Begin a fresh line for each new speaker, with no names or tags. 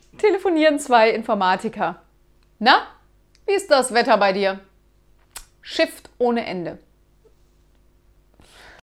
telefonieren zwei Informatiker. Na, wie ist das Wetter bei dir? Schifft ohne Ende.